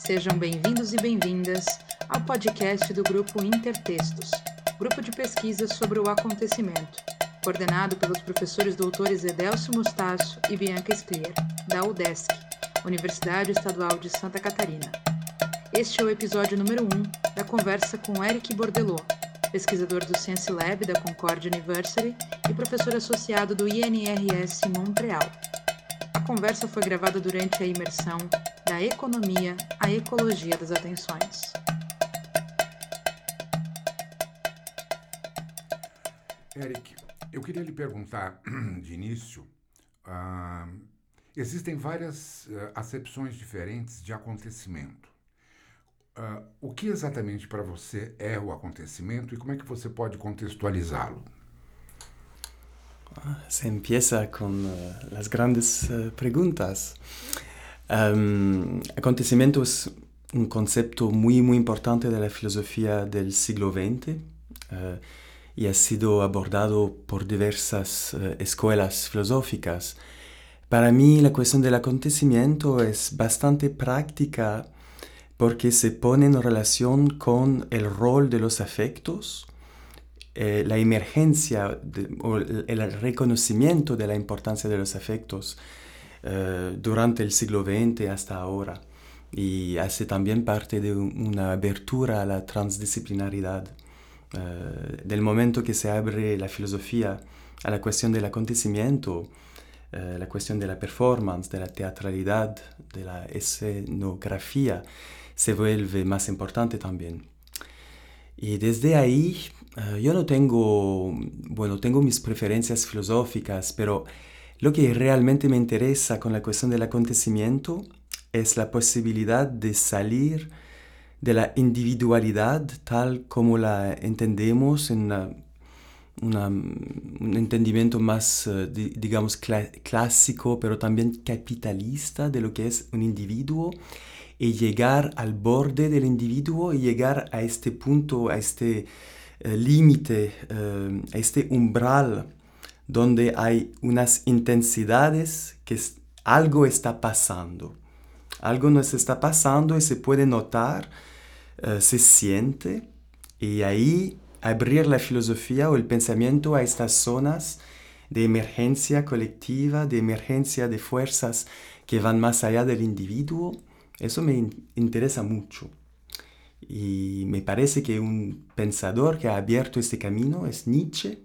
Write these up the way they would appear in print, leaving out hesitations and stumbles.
Sejam bem-vindos e bem-vindas ao podcast do Grupo Intertextos, grupo de pesquisa sobre o acontecimento, coordenado pelos professores doutores Edélcio Mustácio e Bianca Sclier, da UDESC, Universidade Estadual de Santa Catarina. Este é o episódio número 1 da conversa com Eric Bordelot, pesquisador do Science Lab da Concord University e professor associado do INRS Montreal. A conversa foi gravada durante a imersão da Economia à Ecologia das Atenções. Eric, eu queria lhe perguntar de início, existem várias acepções diferentes de acontecimento. O que exatamente para você é o acontecimento e como é que você pode contextualizá-lo? Se empieza con las grandes preguntas. Acontecimiento es un concepto muy importante de la filosofía del siglo XX y ha sido abordado por diversas escuelas filosóficas. Para mí la cuestión del acontecimiento es bastante práctica porque se pone en relación con el rol de los afectos, la emergencia o el reconocimiento de la importancia de los afectos durante el siglo XX hasta ahora, y hace también parte de una abertura a la transdisciplinaridad. Del momento que se abre la filosofía a la cuestión del acontecimiento, la cuestión de la performance, de la teatralidad, de la escenografía, se vuelve más importante también. Y desde ahí yo no tengo mis preferencias filosóficas, pero lo que realmente me interesa con la cuestión del acontecimiento es la posibilidad de salir de la individualidad tal como la entendemos en un entendimiento más, digamos, clásico, pero también capitalista de lo que es un individuo, y llegar al borde del individuo y llegar a este punto, a este límite, a este umbral donde hay unas intensidades que algo está pasando. Algo nos está pasando y se puede notar, se siente, y ahí abrir la filosofía o el pensamiento a estas zonas de emergencia colectiva, de emergencia de fuerzas que van más allá del individuo. Eso me interesa mucho. Y me parece que un pensador que ha abierto este camino es Nietzsche.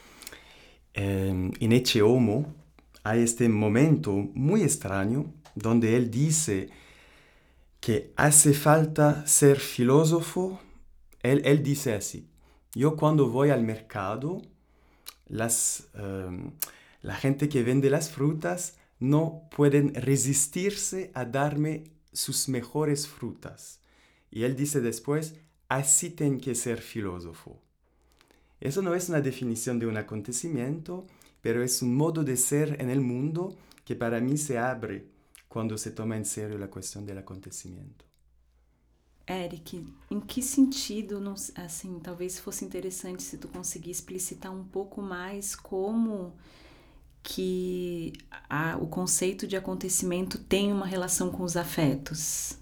En Ecce Homo hay este momento muy extraño donde él dice que hace falta ser filósofo. Él dice así: yo cuando voy al mercado, la gente que vende las frutas no pueden resistirse a darme sus mejores frutas. Y él dice después: así tiene que ser filósofo. Eso no es una definición de un acontecimiento, pero es un modo de ser en el mundo que para mí se abre quando se toma em sério a questão do acontecimento. Eric, em que sentido, assim, talvez fosse interessante se tu conseguir explicitar um pouco mais como que o conceito de acontecimento tem uma relação com os afetos?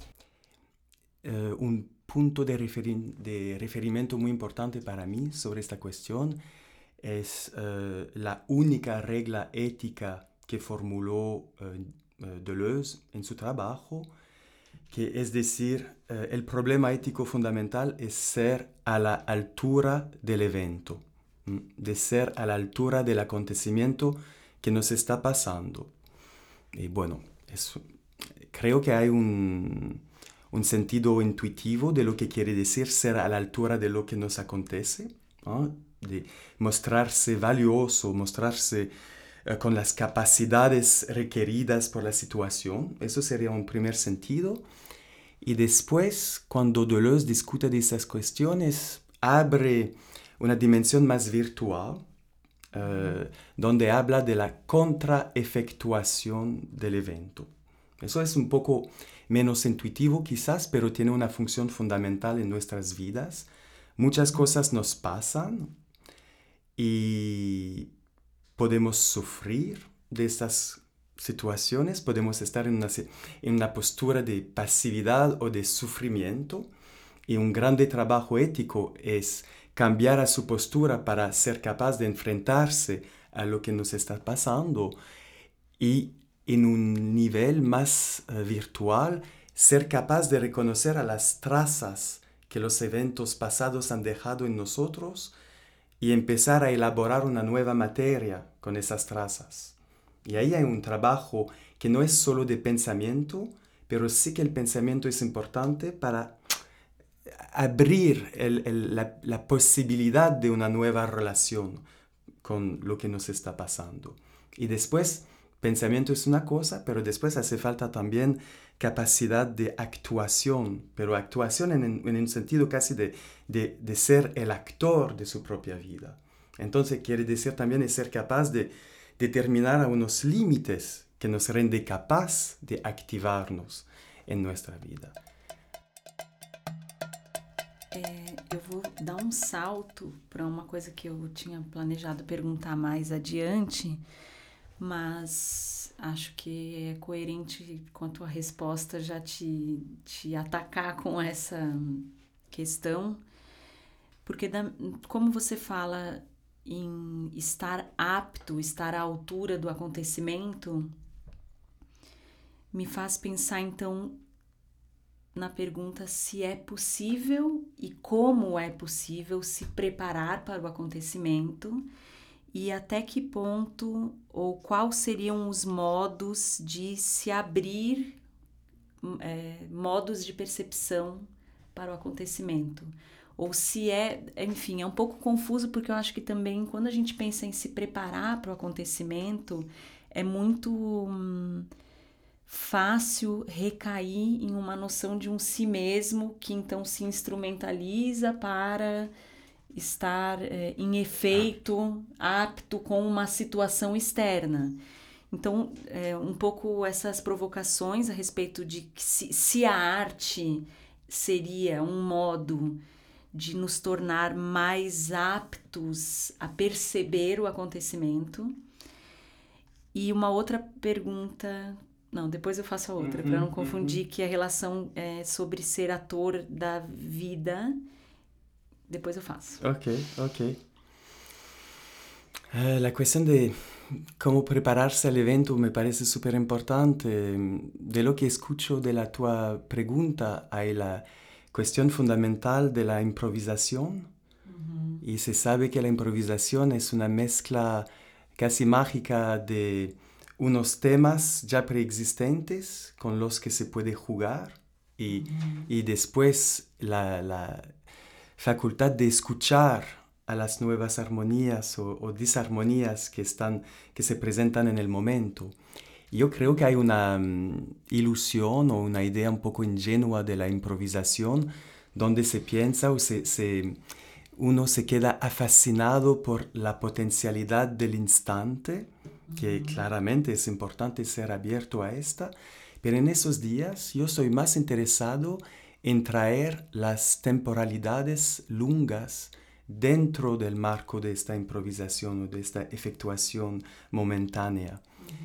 Punto de referimiento muy importante para mí sobre esta cuestión es la única regla ética que formuló Deleuze en su trabajo, que es decir, el problema ético fundamental es ser a la altura del evento, de ser a la altura del acontecimiento que nos está pasando. Y bueno, creo que hay un sentido intuitivo de lo que quiere decir ser a la altura de lo que nos acontece, ¿no? De mostrarse valioso, mostrarse con las capacidades requeridas por la situación. Eso sería un primer sentido. Y después, cuando Deleuze discute de esas cuestiones, abre una dimensión más virtual, donde habla de la contraefectuación del evento. Eso es un poco menos intuitivo quizás, pero tiene una función fundamental en nuestras vidas. Muchas cosas nos pasan y podemos sufrir de estas situaciones podemos estar en una postura de pasividad o de sufrimiento, y un grande trabajo ético es cambiar a su postura para ser capaz de enfrentarse a lo que nos está pasando y en un nivel más virtual ser capaz de reconocer a las trazas que los eventos pasados han dejado en nosotros y empezar a elaborar una nueva materia con esas trazas. Y ahí hay un trabajo que no es solo de pensamiento, pero sí que el pensamiento es importante para abrir la posibilidad de una nueva relación con lo que nos está pasando. Y después, pensamiento es una cosa, pero después hace falta también capacidad de actuación, pero actuación en un sentido casi de ser el actor de su propia vida. Entonces quiere decir también es ser capaz de determinar a unos límites que nos rende capaz de activarnos en nuestra vida. Eu vou dar um salto para uma coisa que eu tinha planejado perguntar mais adiante, mas acho que é coerente com a tua resposta já te atacar com essa questão, porque como você fala em estar apto, estar à altura do acontecimento, me faz pensar então na pergunta se é possível e como é possível se preparar para o acontecimento e até que ponto ou quais seriam os modos de se abrir, modos de percepção para o acontecimento. Ou se enfim, é um pouco confuso porque eu acho que também quando a gente pensa em se preparar para o acontecimento é muito fácil recair em uma noção de um si mesmo que então se instrumentaliza para estar em efeito apto com uma situação externa. Então, um pouco essas provocações a respeito de que se a arte seria um modo de nos tornar mais aptos a perceber o acontecimento. E uma outra pergunta... Não, depois eu faço a outra, para não confundir que a relação é sobre ser ator da vida. Depois eu faço. Ok. La cuestión de cómo prepararse al evento me parece súper importante. De lo que escucho de la tua pregunta hay la cuestión fundamental de la improvisación. Y se sabe que la improvisación es una mezcla casi mágica de unos temas ya preexistentes con los que se puede jugar y después la facultad de escuchar a las nuevas armonías o disarmonías que se presentan en el momento. Yo creo que hay una ilusión o una idea un poco ingenua de la improvisación donde se piensa o uno se queda fascinado por la potencialidad del instante, que claramente es importante ser abierto a esta, pero en esos días yo soy más interesado en traer las temporalidades lungas dentro del marco de esta improvisación o de esta efectuación momentánea.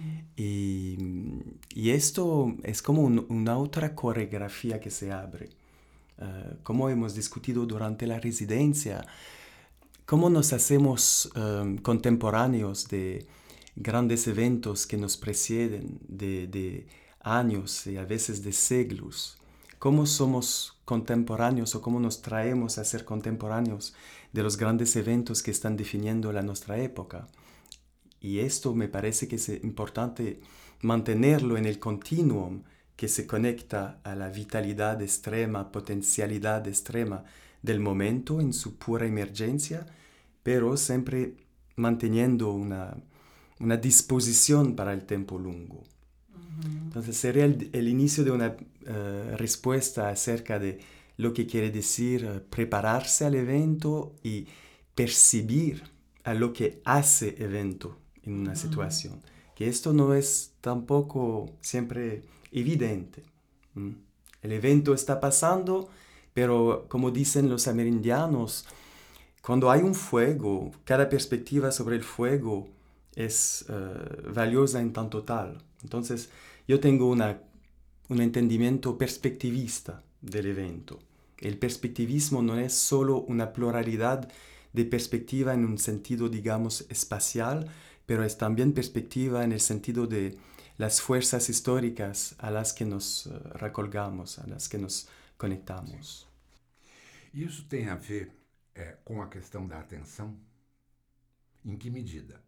Y esto es como una otra coreografía que se abre. Como hemos discutido durante la residencia, cómo nos hacemos contemporáneos de grandes eventos que nos preceden de años y a veces de siglos. Cómo somos contemporáneos o cómo nos traemos a ser contemporáneos de los grandes eventos que están definiendo nuestra época. Y esto me parece que es importante mantenerlo en el continuum que se conecta a la vitalidad extrema, potencialidad extrema del momento en su pura emergencia, pero siempre manteniendo una disposición para el tiempo lungo. Entonces sería el inicio de una respuesta acerca de lo que quiere decir prepararse al evento y percibir a lo que hace evento en una situación. Que esto no es tampoco siempre evidente. El evento está pasando, pero como dicen los amerindianos, cuando hay un fuego, cada perspectiva sobre el fuego es valiosa en tanto tal, Entonces, yo tengo un entendimiento perspectivista del evento. El perspectivismo no es solo una pluralidad de perspectiva en un sentido, digamos, espacial, pero es también perspectiva en el sentido de las fuerzas históricas a las que nos recolgamos, a las que nos conectamos. E isso tem a ver com a questão da atenção? Em que medida?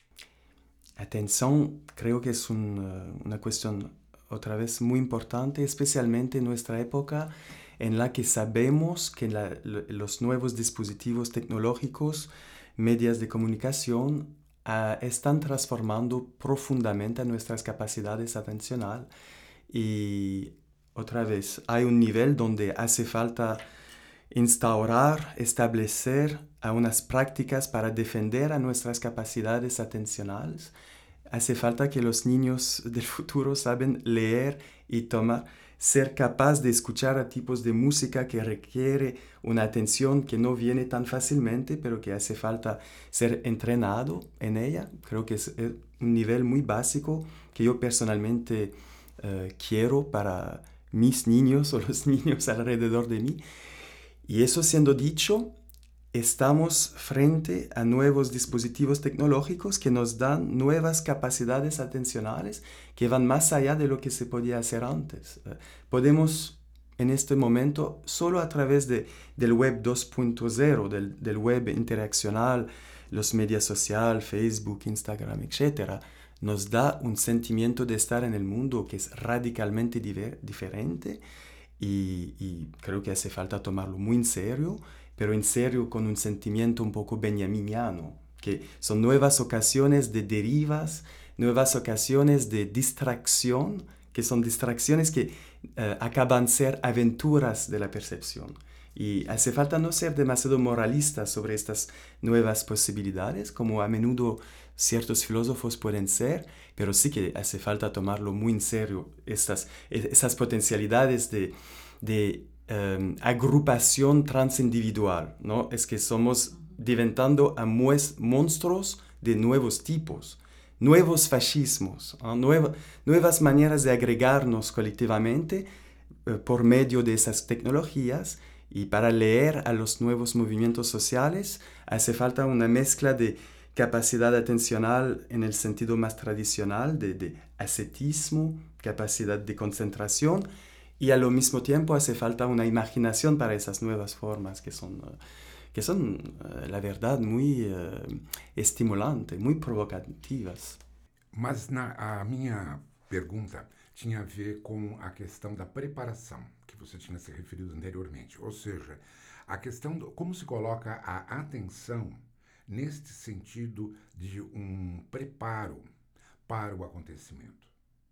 Atención, creo que es una cuestión otra vez muy importante, especialmente en nuestra época en la que sabemos que los nuevos dispositivos tecnológicos, medios de comunicación, están transformando profundamente nuestras capacidades atencionales. Y otra vez, hay un nivel donde hace falta instaurar, establecer unas prácticas para defender a nuestras capacidades atencionales. Hace falta que los niños del futuro saben leer y ser capaz de escuchar a tipos de música que requiere una atención que no viene tan fácilmente, pero que hace falta ser entrenado en ella. Creo que es un nivel muy básico que yo personalmente quiero para mis niños o los niños alrededor de mí. Y eso siendo dicho, estamos frente a nuevos dispositivos tecnológicos que nos dan nuevas capacidades atencionales que van más allá de lo que se podía hacer antes. Podemos en este momento, solo a través del web 2.0, del web interaccional, los medios sociales, Facebook, Instagram, etc., nos da un sentimiento de estar en el mundo que es radicalmente diferente y creo que hace falta tomarlo muy en serio, pero en serio con un sentimiento un poco benjaminiano, que son nuevas ocasiones de derivas, nuevas ocasiones de distracción, que son distracciones que acaban ser aventuras de la percepción. Y hace falta no ser demasiado moralistas sobre estas nuevas posibilidades, como a menudo ciertos filósofos pueden ser, pero sí que hace falta tomarlo muy en serio, esas potencialidades de agrupación transindividual, ¿no? Es que somos diventando a monstruos de nuevos tipos, nuevos fascismos, nuevas maneras de agregarnos colectivamente por medio de esas tecnologías. Y para leer a los nuevos movimientos sociales hace falta una mezcla de capacidad atencional en el sentido más tradicional, de ascetismo, capacidad de concentración, y a lo mismo tiempo hace falta una imaginación para esas nuevas formas que son la verdad, muy estimulantes, muy provocativas. Mas a minha pergunta tinha a ver com a questão da preparação, que você tinha se referido anteriormente. Ou seja, a questão como se coloca a atenção neste sentido de um preparo para o acontecimento.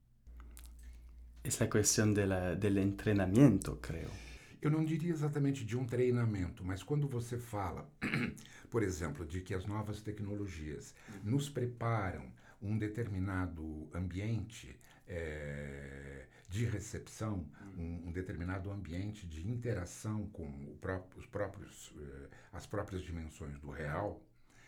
Es la cuestión del entrenamiento, creo. Eu não diria exatamente de um treinamento, mas quando você fala, por exemplo, de que as novas tecnologias nos preparam um determinado ambiente de recepção, um determinado ambiente de interação com as próprias dimensões do real,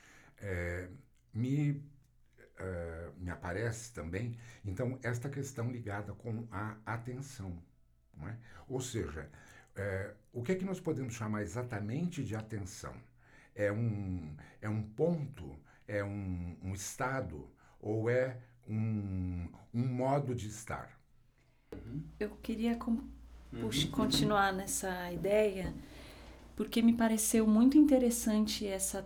me aparece também, então, esta questão ligada com a atenção. Não é? Ou seja, o que é que nós podemos chamar exatamente de atenção? É um ponto? É um estado? Ou é um modo de estar? Eu queria continuar nessa ideia, porque me pareceu muito interessante esse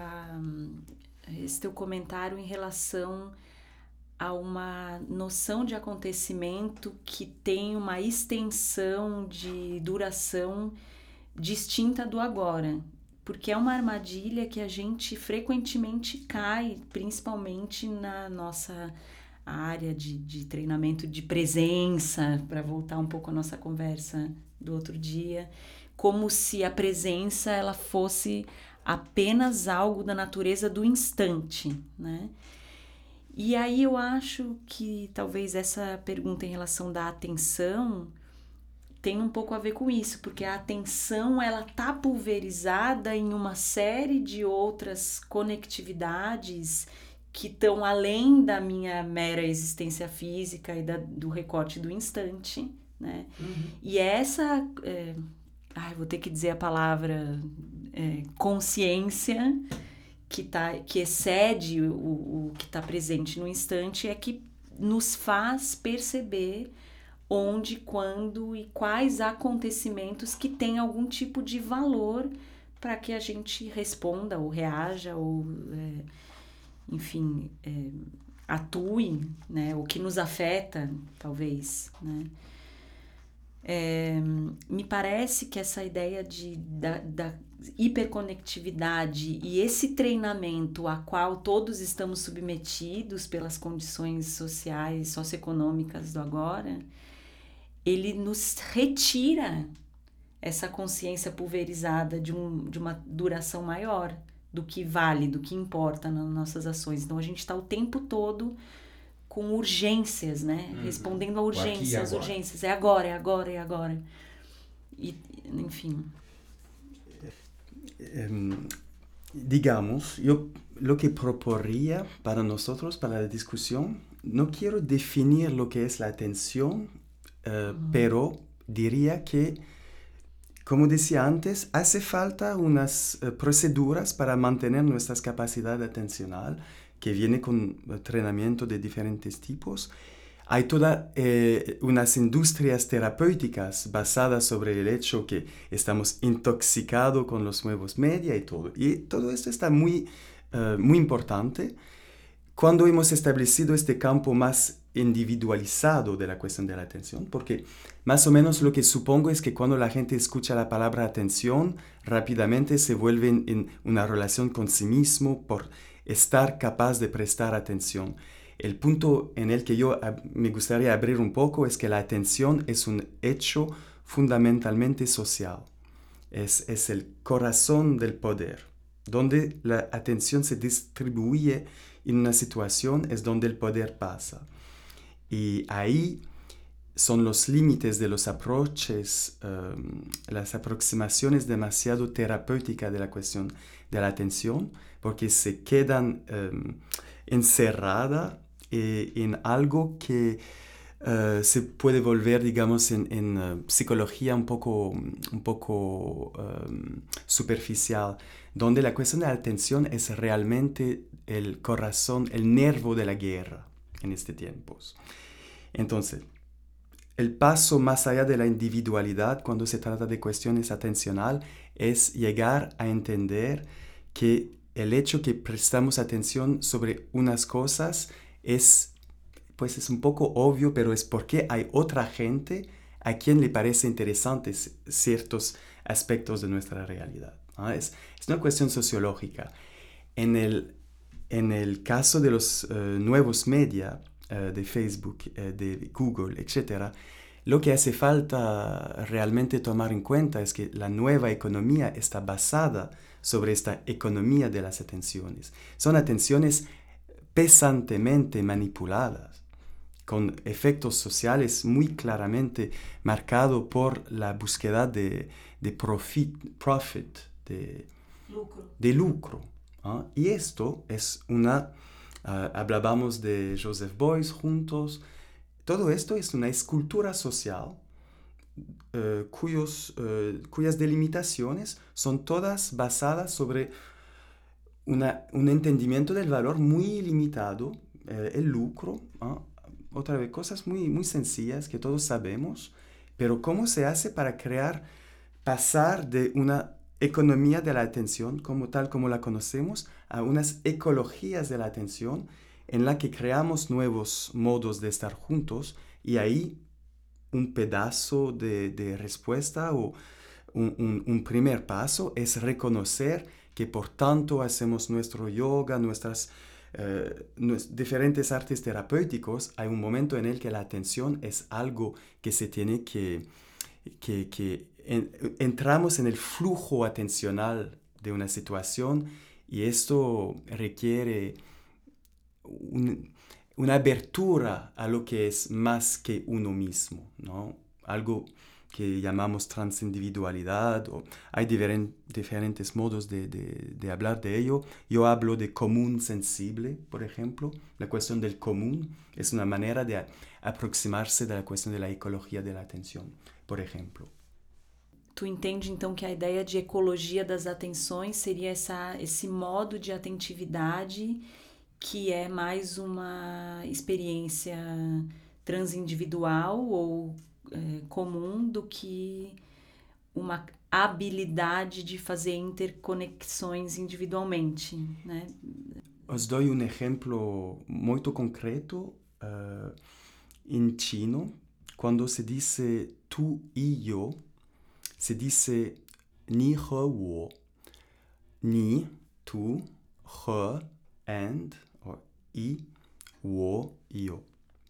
teu comentário em relação a uma noção de acontecimento que tem uma extensão de duração distinta do agora, porque é uma armadilha que a gente frequentemente cai, principalmente na nossa área de treinamento de presença, para voltar um pouco à nossa conversa do outro dia, como se a presença ela fosse apenas algo da natureza do instante, né? E aí eu acho que talvez essa pergunta em relação da atenção tem um pouco a ver com isso, porque a atenção ela tá pulverizada em uma série de outras conectividades que estão além da minha mera existência física e do recorte do instante, né? E essa, vou ter que dizer a palavra consciência, que excede o que está presente no instante, é que nos faz perceber onde, quando e quais acontecimentos que têm algum tipo de valor para que a gente responda ou reaja ou, enfim, atue, né? O que nos afeta, talvez, né? Me parece que essa ideia da hiperconectividade e esse treinamento a qual todos estamos submetidos pelas condições sociais, socioeconômicas do agora, ele nos retira essa consciência pulverizada de uma duração maior do que vale, do que importa nas nossas ações. Então a gente está o tempo todo com urgências, né? Respondendo a urgências, urgências. É agora, é agora, é agora. E, enfim. Digamos, yo lo que proporía para nosotros, para la discusión, no quiero definir lo que es la atención, pero diría que, como decía antes, hace falta unas proceduras para mantener nuestras capacidades atencional, que viene con entrenamiento de diferentes tipos. Hay todas unas industrias terapéuticas basadas sobre el hecho que estamos intoxicados con los nuevos medios y todo. Y todo esto está muy importante. Cuando hemos establecido este campo más individualizado de la cuestión de la atención, porque más o menos lo que supongo es que cuando la gente escucha la palabra atención, rápidamente se vuelven en una relación con sí mismo por estar capaz de prestar atención. El punto en el que yo me gustaría abrir un poco es que la atención es un hecho fundamentalmente social. Es el corazón del poder. Donde la atención se distribuye en una situación es donde el poder pasa. Y ahí son los límites de los approaches, las aproximaciones demasiado terapéuticas de la cuestión de la atención, porque se quedan encerradas en algo que se puede volver, digamos, en psicología un poco superficial, donde la cuestión de la atención es realmente el corazón, el nervio de la guerra en este tiempo. Entonces, el paso más allá de la individualidad cuando se trata de cuestiones atencional es llegar a entender que el hecho que prestamos atención sobre unas cosas es un poco obvio, pero es porque hay otra gente a quien le parece interesantes ciertos aspectos de nuestra realidad, ¿no? Es una cuestión sociológica. En el caso de los nuevos media, de Facebook, de Google, etc., lo que hace falta realmente tomar en cuenta es que la nueva economía está basada sobre esta economía de las atenciones. Son atenciones pesantemente manipuladas, con efectos sociales muy claramente marcados por la búsqueda de profit, de lucro. ¿Ah? Y esto es hablábamos de Joseph Beuys juntos. Todo esto es una escultura social cuyas delimitaciones son todas basadas sobre un entendimiento del valor muy limitado, el lucro, otra vez cosas muy, muy sencillas que todos sabemos, pero cómo se hace para pasar de una economía de la atención tal como la conocemos a unas ecologías de la atención en la que creamos nuevos modos de estar juntos, y ahí un pedazo de respuesta o un primer paso es reconocer que por tanto hacemos nuestro yoga, nuestras diferentes artes terapéuticos. Hay un momento en el que la atención es algo que se tiene que entramos en el flujo atencional de una situación, y esto requiere una abertura a lo que es más que uno mismo, ¿no? Algo que llamamos transindividualidad, o hay diferentes modos de hablar de ello. Yo hablo de común sensible, por ejemplo. La cuestión del común es una manera de aproximarse de la cuestión de la ecología de la atención, por ejemplo. Tu entende, então, que a ideia de ecologia das atenções seria esse modo de atentividade que é mais uma experiência transindividual ou comum do que uma habilidade de fazer interconexões individualmente, né? Os dou um exemplo muito concreto em chino. Quando se diz tu e eu, se dice ni, he, wo. Ni, tu, he, and, or i, wo, yo.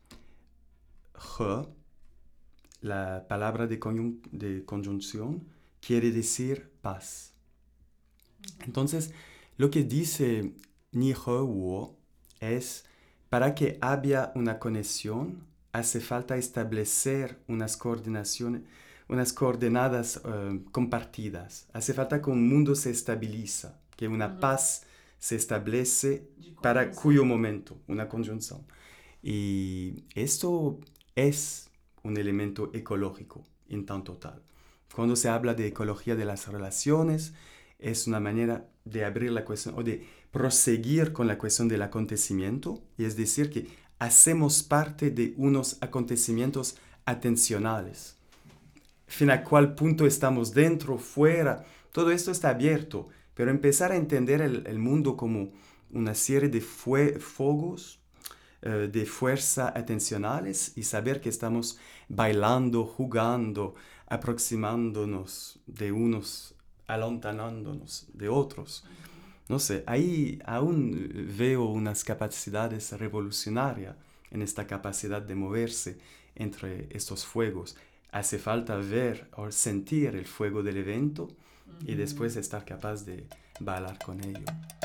He, la palabra de conjunción, quiere decir paz. Entonces, lo que dice ni, he, wo es para que haya una conexión, hace falta establecer unas coordenadas compartidas. Hace falta que un mundo se estabiliza, que una paz se establece para cuyo momento, una conjunción. Y esto es un elemento ecológico en tanto tal. Cuando se habla de ecología de las relaciones, es una manera de abrir la cuestión o de proseguir con la cuestión del acontecimiento, y es decir, que hacemos parte de unos acontecimientos atencionales. Fin a cuál punto estamos dentro, fuera, todo esto está abierto, pero empezar a entender el mundo como una serie de fuegos de fuerza atencionales y saber que estamos bailando, jugando, aproximándonos de unos, alontanándonos de otros. No sé, ahí aún veo unas capacidades revolucionarias en esta capacidad de moverse entre estos fuegos. Hace falta ver o sentir el fuego del evento y después estar capaz de bailar con ello.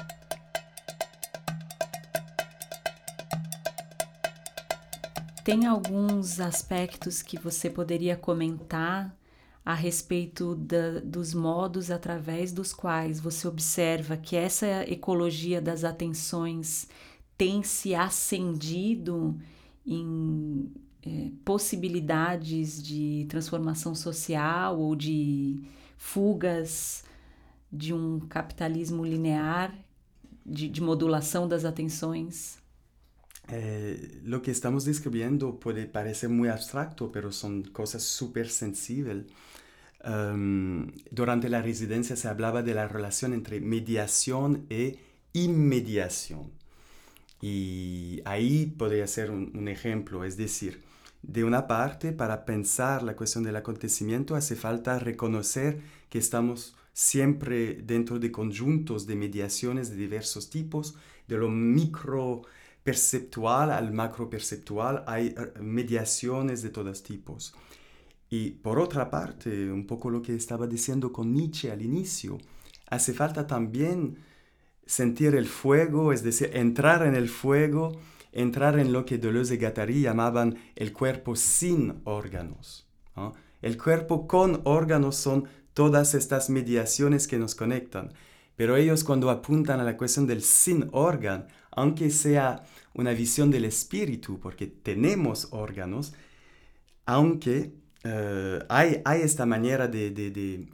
Tem alguns aspectos que você poderia comentar a respeito dos modos através dos quais você observa que essa ecologia das atenções tem se acendido em possibilidades de transformação social ou de fugas de um capitalismo linear, de modulação das atenções? Lo que estamos describiendo puede parecer muy abstracto, pero son cosas súper sensibles. Durante la residencia se hablaba de la relación entre mediación e inmediación. Y ahí podría ser un ejemplo, es decir, de una parte, para pensar la cuestión del acontecimiento hace falta reconocer que estamos siempre dentro de conjuntos de mediaciones de diversos tipos, de lo micro perceptual al macro perceptual, hay mediaciones de todos tipos. Y por otra parte, un poco lo que estaba diciendo con Nietzsche al inicio, hace falta también sentir el fuego, es decir, entrar en el fuego, entrar en lo que Deleuze y Guattari llamaban el cuerpo sin órganos, ¿no? El cuerpo con órganos son todas estas mediaciones que nos conectan, pero ellos cuando apuntan a la cuestión del sin órgano, aunque sea una visión del espíritu, porque tenemos órganos, aunque hay esta manera de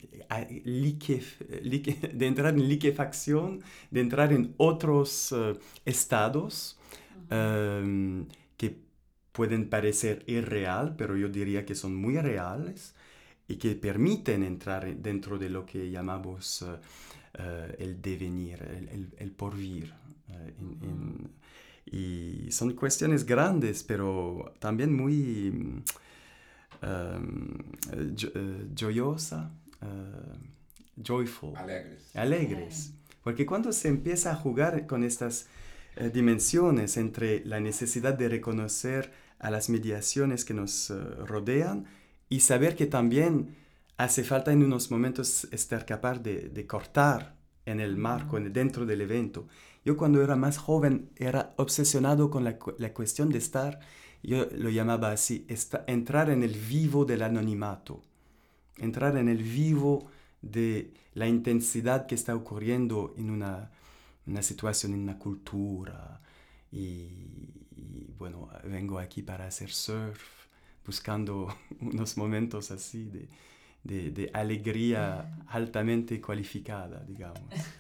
entrar en liquefacción, de entrar en otros estados que pueden parecer irreal, pero yo diría que son muy reales y que permiten entrar dentro de lo que llamamos el devenir, el porvir. Y son cuestiones grandes, pero también muy joyful. Alegres. Porque cuando se empieza a jugar con estas dimensiones entre la necesidad de reconocer a las mediaciones que nos rodean y saber que también hace falta en unos momentos estar capaz de cortar en el marco, dentro del evento. Yo cuando era más joven era obsesionado con la cuestión de estar, yo lo llamaba así, entrar en el vivo del anonimato. entrar en el vivo de la intensidad que está ocurriendo en una situación, en una cultura. Y bueno, vengo aquí para hacer surf, buscando unos momentos así de alegría altamente cualificada, digamos.